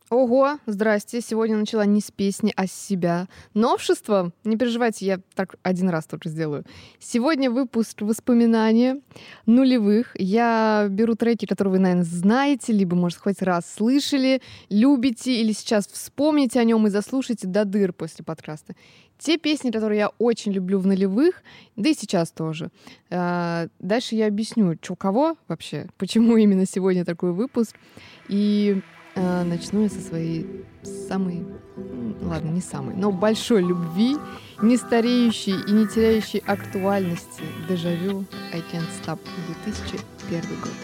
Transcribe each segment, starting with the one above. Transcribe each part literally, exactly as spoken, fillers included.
Ого, здрасте. Сегодня начала не с песни, а с себя. Новшество? Не переживайте, я так один раз только сделаю. Сегодня выпуск воспоминания нулевых. Я беру треки, которые вы, наверное, знаете, либо, может, хоть раз слышали, любите, или сейчас вспомните о нем и заслушайте до дыр после подкаста. Те песни, которые я очень люблю в нулевых, да и сейчас тоже. А, дальше я объясню, что кого вообще, почему именно сегодня такой выпуск. И а, начну я со своей самой, м, ладно, не самой, но большой любви, не стареющей и не теряющей актуальности. Дежавю I Can't Stop, две тысячи первый год.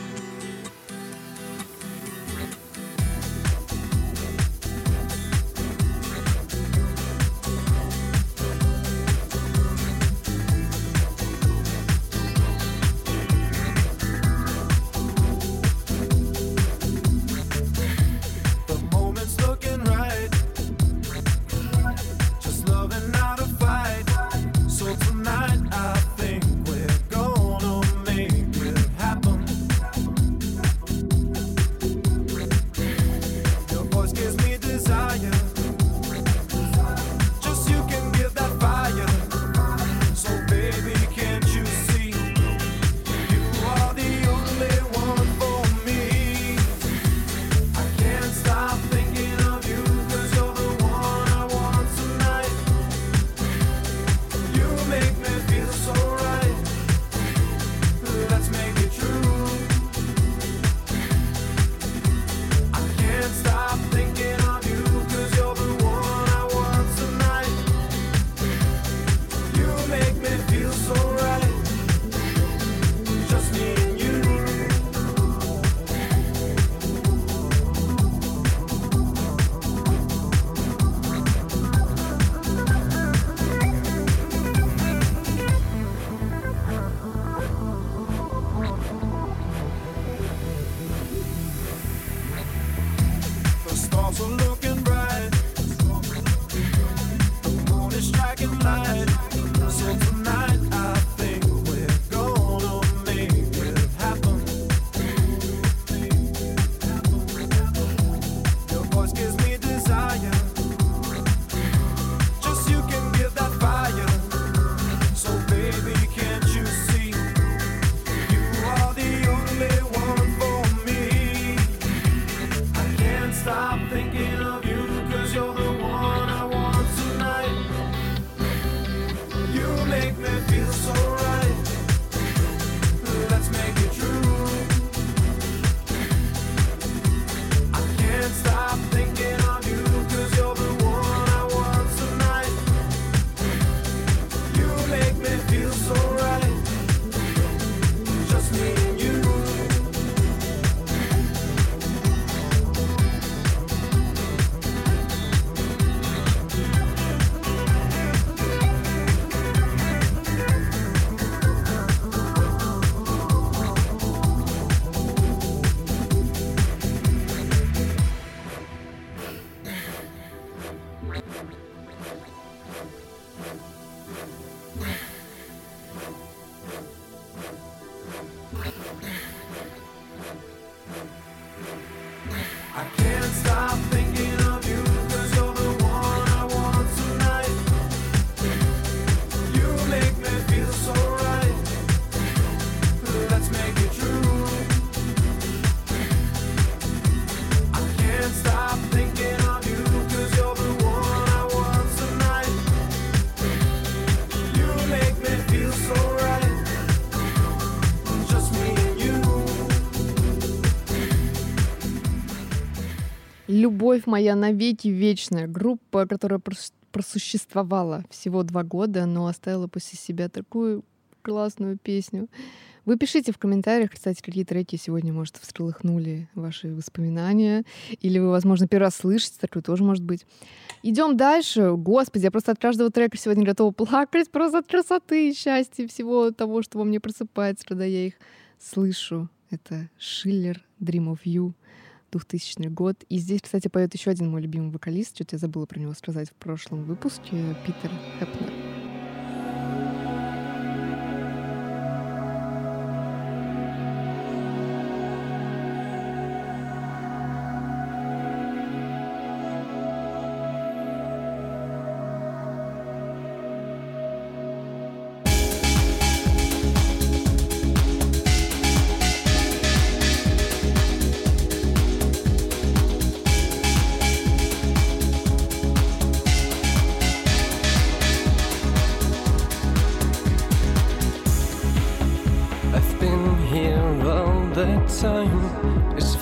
«Любовь моя навеки вечная», группа, которая прос- просуществовала всего два года, но оставила после себя такую классную песню. Вы пишите в комментариях, кстати, какие треки сегодня, может, всколыхнули ваши воспоминания, или вы, возможно, первый раз слышите, такое тоже может быть. Идем дальше. Господи, я просто от каждого трека сегодня готова плакать, просто от красоты и счастья, всего того, что во мне просыпается, когда я их слышу. Это Шиллер, Dream of You, двухтысячный год. И здесь, кстати, поет еще один мой любимый вокалист. Что-то я забыла про него сказать в прошлом выпуске. Питер Хэпнер.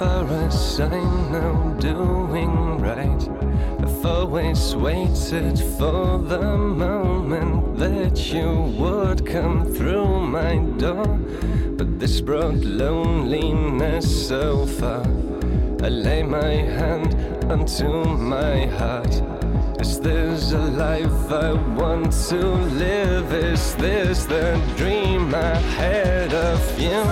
far as I know, doing right. I've always waited for the moment that you would come through my door, but this brought loneliness so far. I lay my hand onto my heart. Is this a life I want to live? Is this the dream I had of you?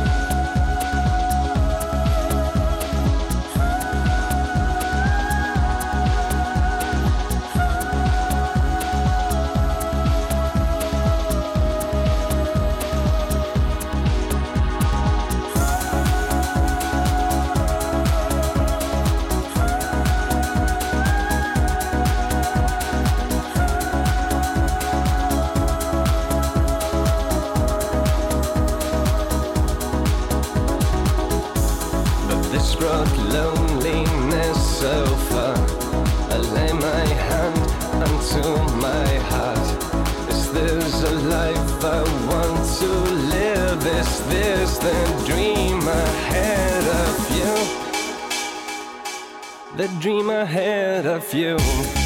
Loneliness so far. I lay my hand onto my heart. Is this a life I want to live? Is this the dream I had of you? The dream I had of you.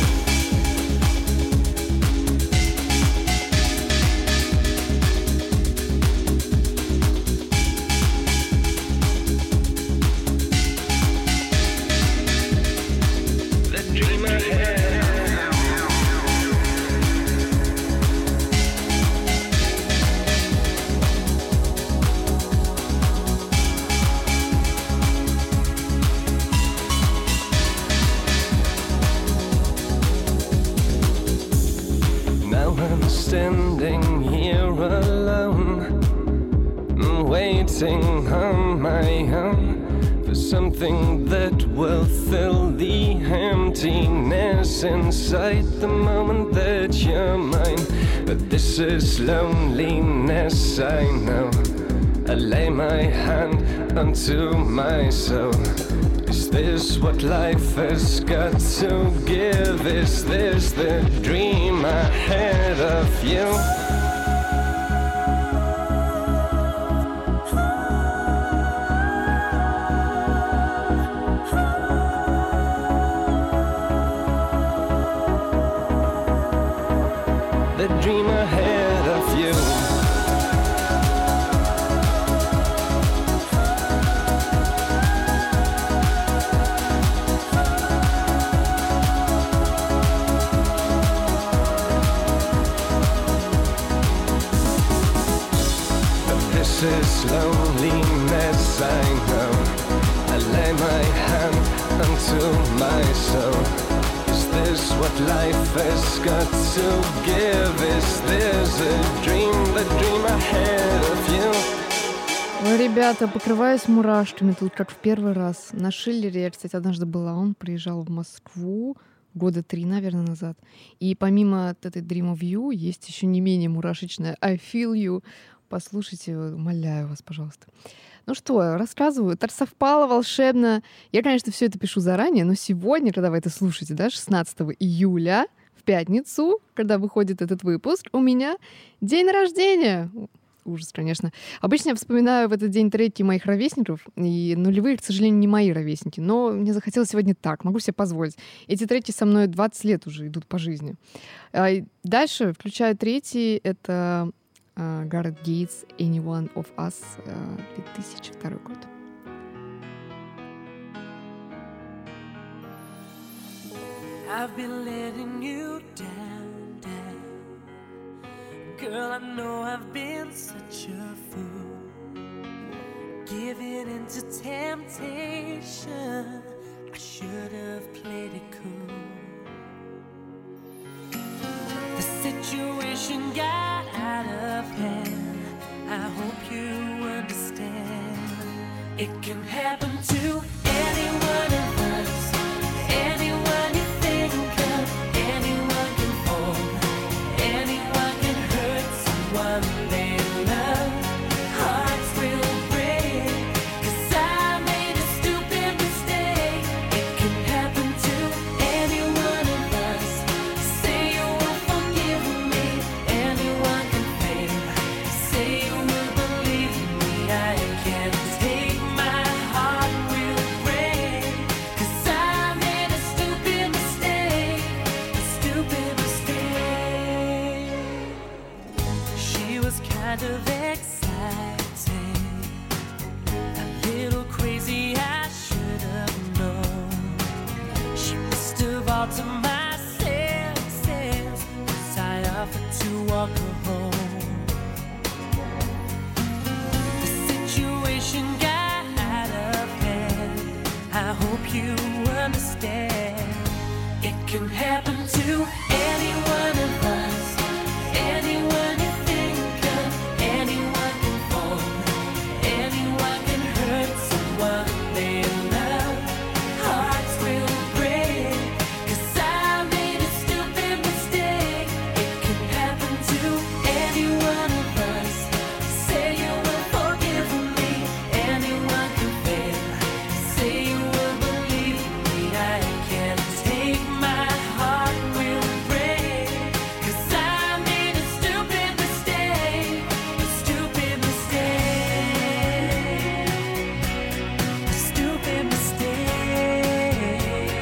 Standing here alone, waiting on my own for something that will fill the emptiness inside the moment that you're mine. But this is loneliness, I know. I lay my hand onto my soul. Is this what life has got to give? Is this the dream I had of you? The dream I had of you. This is loneliness, I know. I lay my hand onto my soul. Is this what life has got to give? Is this a dream, the dream I had of you? Ой, ребята, покрываюсь мурашками тут, как в первый раз. На Шиллере я, кстати, однажды была. Он приезжал в Москву года три, наверное, назад. И помимо этой Dream of You есть еще не менее мурашечная I Feel You. Послушайте, умоляю вас, пожалуйста. Ну что, рассказываю. Так совпало волшебно. Я, конечно, все это пишу заранее, но сегодня, когда вы это слушаете, да, шестнадцатого июля, в пятницу, когда выходит этот выпуск, у меня день рождения. Ужас, конечно. Обычно я вспоминаю в этот день треки моих ровесников, и нулевые, к сожалению, не мои ровесники, но мне захотелось сегодня так, могу себе позволить. Эти треки со мной двадцать лет уже идут по жизни. Дальше включаю третий, это Uh, Gareth Gates, Any One of Us, uh, две тысячи второй год. I've been letting you down, down. Girl, I know I've been such a fool, giving into temptation. I should have played it cool. The situation got out of hand. I hope you understand. It can happen to any one of us. Anyone you think of, anyone can fall. Anyone can hurt someone they love. Hearts will break, 'cause I made a stupid mistake. It can happen to any one of us. Say you will forgive me. Anyone can fail. Say you will believe me. I can't take my heart will all to my senses as I offered to walk her home. The situation got out of hand. I hope you understand. It can happen to any one of us. Anyone you think of, anyone can fall. Anyone can hurt someone they love. Hearts will break, 'cause I made a stupid mistake. It can happen to any one of us. Say you will forgive me. Anyone can fail. Say you will believe me. I can't take my heart will break, 'cause I made a stupid mistake. A stupid mistake. A stupid mistake.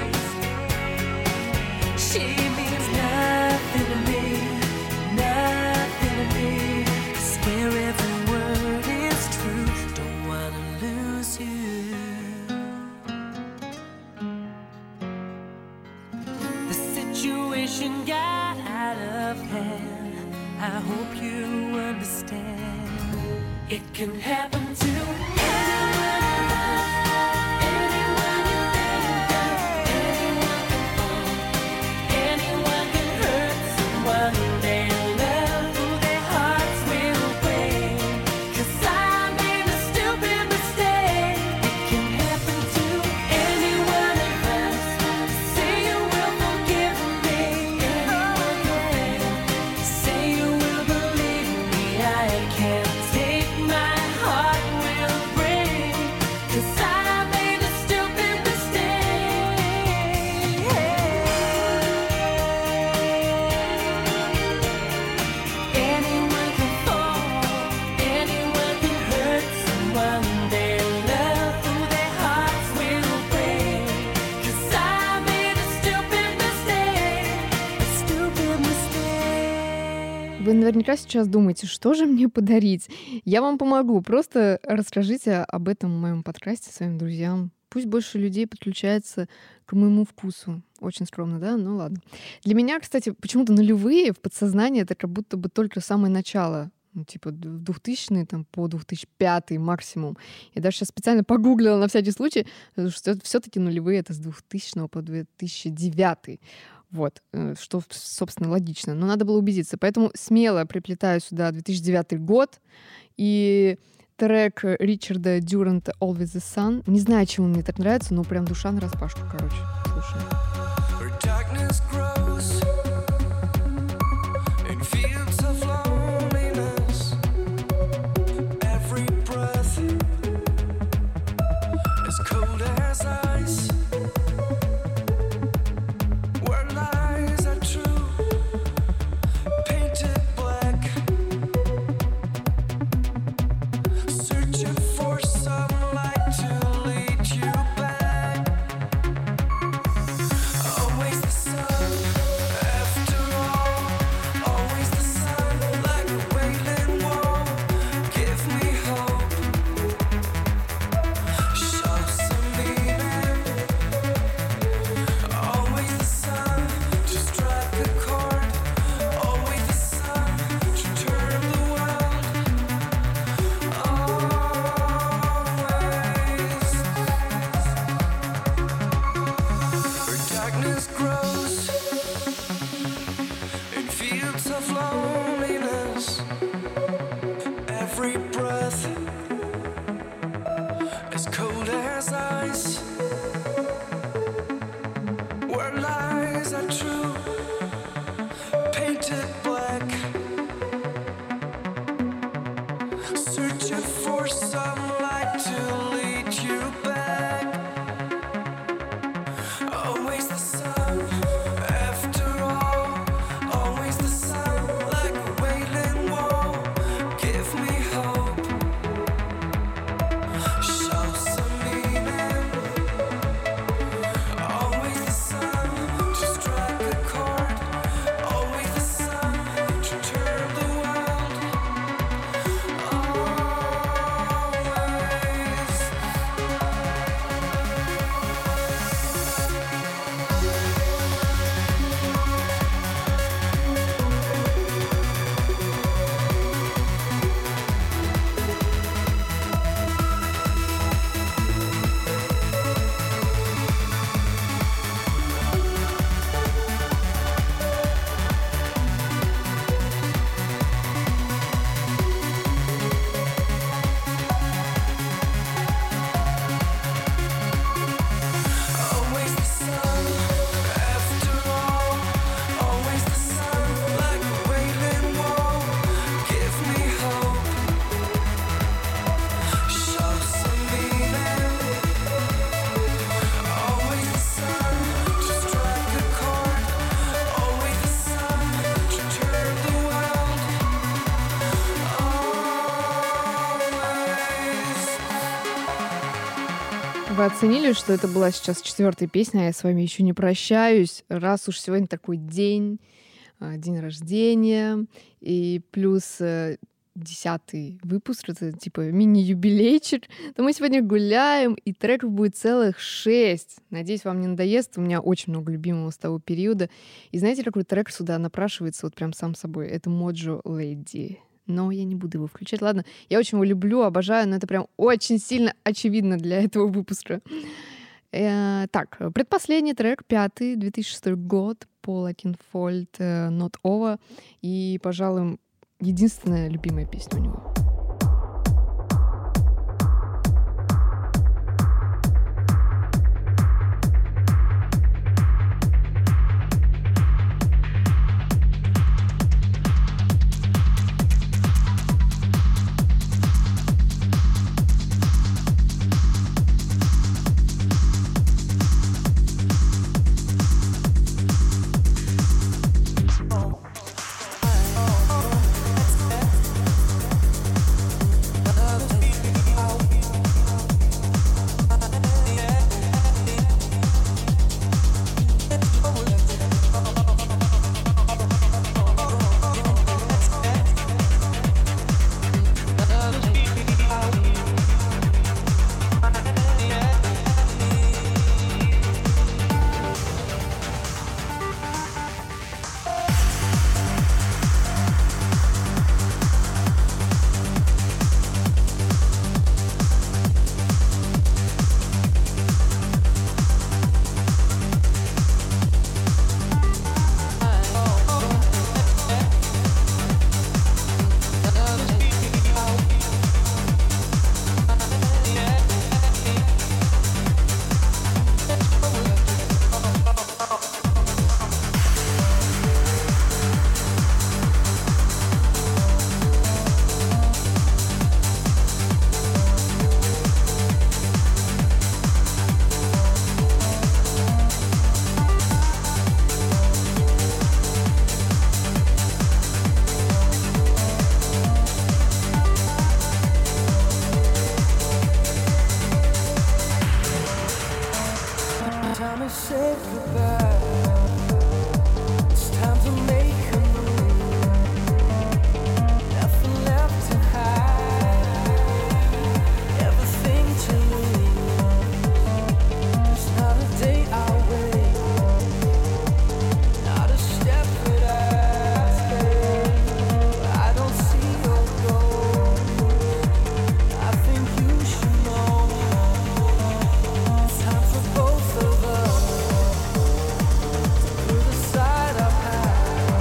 She means nothing to me, nothing to me. I swear every word is true. Don't wanna lose you. The situation got out of hand. I hope you understand. It can happen to anyone of us. Anyone you think of, anyone can fall. Anyone can hurt someone they love. Ooh, their hearts will break, 'cause I made a stupid mistake. It can happen to any one of us. Say you will forgive me. Anyone can fail. Say you will believe me. I can't take my heart will break, 'cause I made a stupid mistake. Anyone can fall. Anyone can hurt someone they love. Ooh, their hearts will break, 'cause I made a stupid mistake. A stupid mistake. Вы наверняка сейчас думаете, что же мне подарить? Я вам помогу. Просто расскажите об этом в моем подкасте своим друзьям. Пусть больше людей подключается к моему вкусу. Очень скромно, да? Ну ладно. Для меня, кстати, почему-то нулевые в подсознании это как будто бы только самое начало. Ну, типа д- двухтысячные там, по две тысячи пятый максимум. Я даже сейчас специально погуглила на всякий случай, потому что все-таки нулевые это с двухтысячного по две тысячи девятый. Вот, э, что, собственно, логично. Но надо было убедиться. Поэтому смело приплетаю сюда две тысячи девятый год и трек Ричарда Дюранта «Always the Sun». Не знаю, чему мне так нравится, но прям душа нараспашку, короче. Слушаем. Where darkness grows in fields of loneliness, every breath as cold as ice, where lies are true, painted black, searching for some light to lead you back. Always the sun, after all. Always the sun, like a wailing wall. Give me hope, show some meaning. Always the sun, to strike a chord. Always the sun, to turn the world. Always. Where darkness grows in fields of loneliness, every breath as cold as ice, where lies are true, painted black, searching for some light to lead you back. Always the sun, after all. Always the sun, like a wailing wall. Give me hope, show some meaning. Always the sun, вы оценили, что это была сейчас четвертая песня, а я с вами еще не прощаюсь. Раз уж сегодня такой день, день рождения, и плюс десятый выпуск, это типа мини-юбилейчик, то мы сегодня гуляем, и треков будет целых шесть. Надеюсь, вам не надоест. У меня очень много любимого с того периода. И знаете, какой трек сюда напрашивается вот прям сам собой? Это Mojo Lady. Но я не буду его включать. Ладно, я очень его люблю, обожаю, но это прям очень сильно очевидно для этого выпуска. Э, так, предпоследний трек, пятый, две тысячи шестой год, Пол Окенфольд, Not Over. И, пожалуй, единственная любимая песня у него. Both of us, through the side of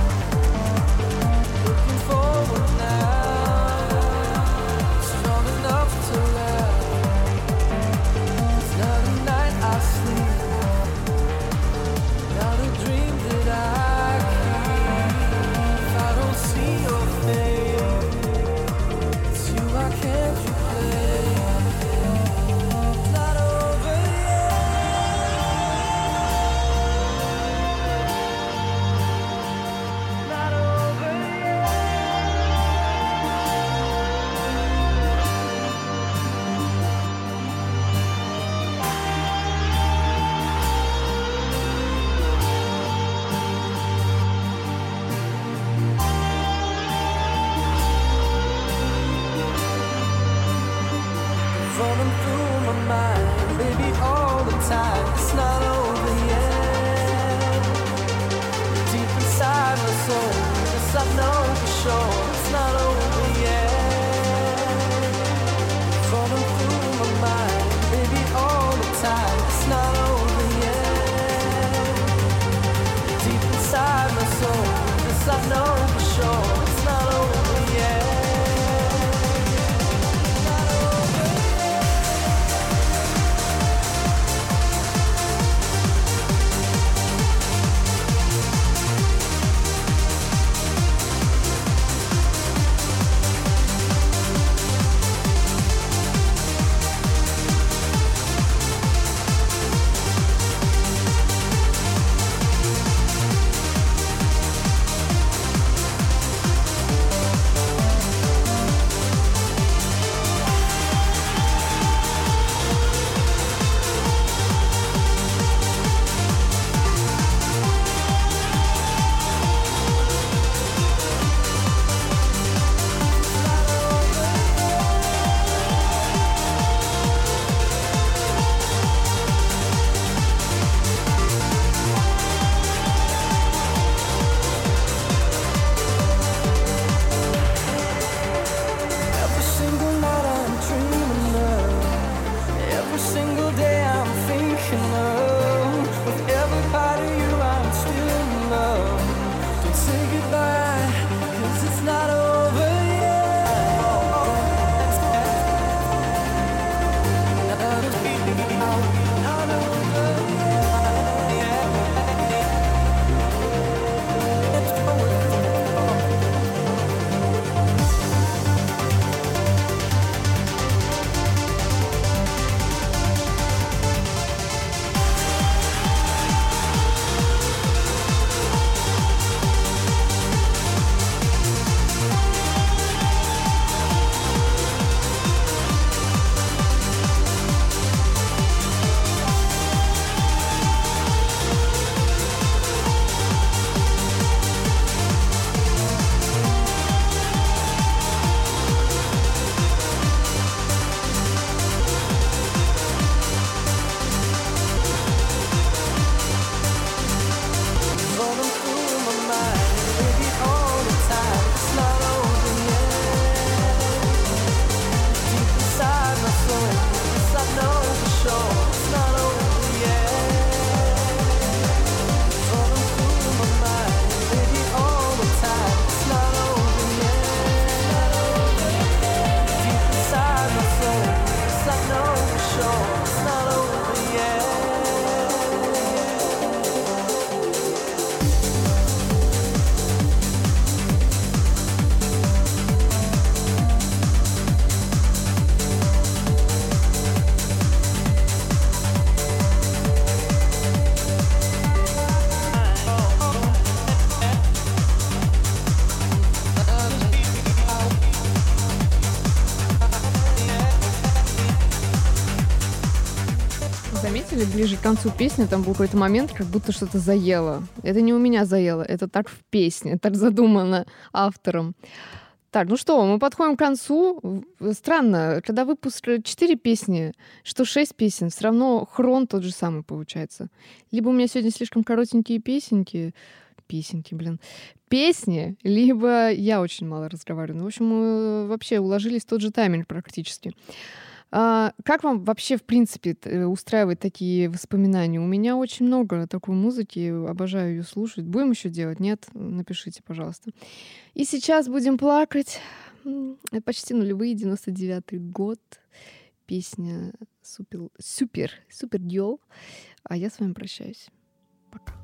ближе к концу песни там был какой-то момент, как будто что-то заело. Это не у меня заело, это так в песне, так задумано автором. Так, ну что, мы подходим к концу. Странно, когда выпуск четыре песни, что шесть песен, все равно хрон тот же самый получается. Либо у меня сегодня слишком коротенькие песенки, песенки, блин, песни, либо я очень мало разговариваю. Ну, в общем, мы вообще уложились в тот же тайминг практически. А, как вам вообще, в принципе, устраивать такие воспоминания? У меня очень много такой музыки, обожаю ее слушать. Будем еще делать? Нет? Напишите, пожалуйста. И сейчас будем плакать. Почти нулевые, девяносто девятый год. Песня супер, супер, супер дьол. А я с вами прощаюсь. Пока.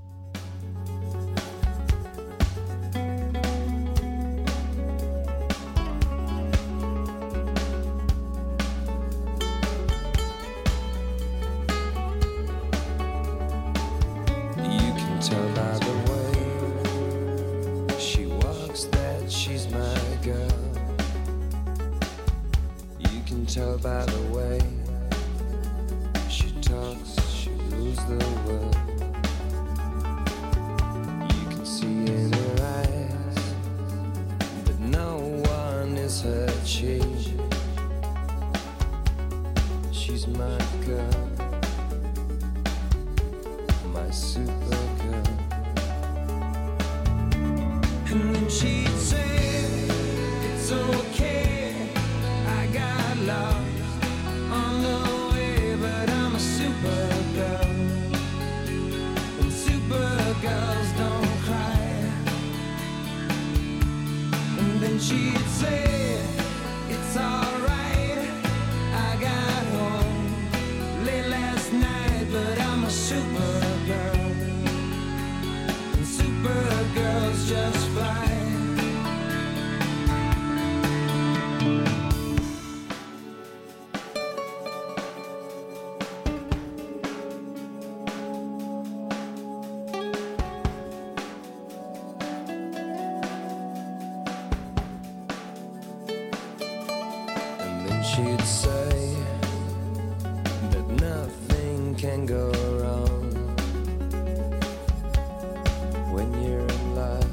Tell by the way she walks that she's my girl. You can tell by the way she talks, she rules the world. You can see in her eyes that no one is her chief. She's my girl, my super. And then she'd say, it's okay, I got lost on the way, but I'm a super girl, and super girls don't cry. And then she'd say, it's alright, I got home late last night, but I'm a super girl, and super girls just fly. And then she'd say that nothing can go wrong when you're in love.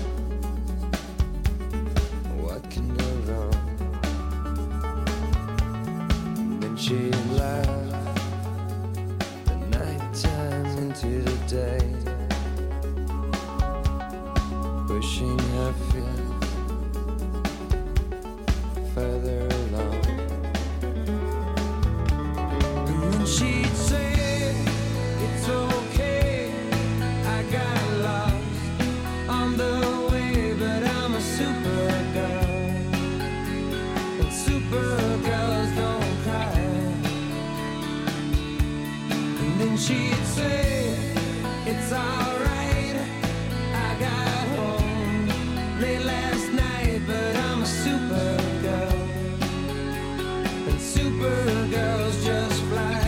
What can go wrong? And then she'd laugh the night time into the day, pushing her feet further along. And then she'd say, it's okay, I got lost on the way, but I'm a super girl, and super girls don't cry. And then she'd say, it's alright, I got home late last night, but I'm a super girl, and super girls just fly.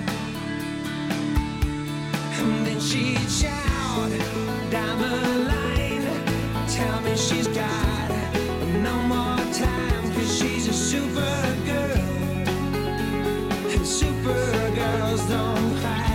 And then she'd shout down the line, tell me she's got no more time, cause she's a super girl, and super girls don't cry.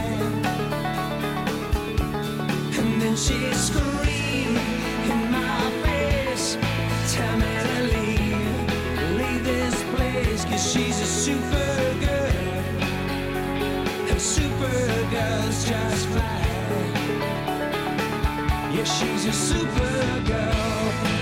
And then she'd scream in my face, tell me to leave, leave this place, cause she's a super girl, and super girls just fly. Yeah, she's a super girl.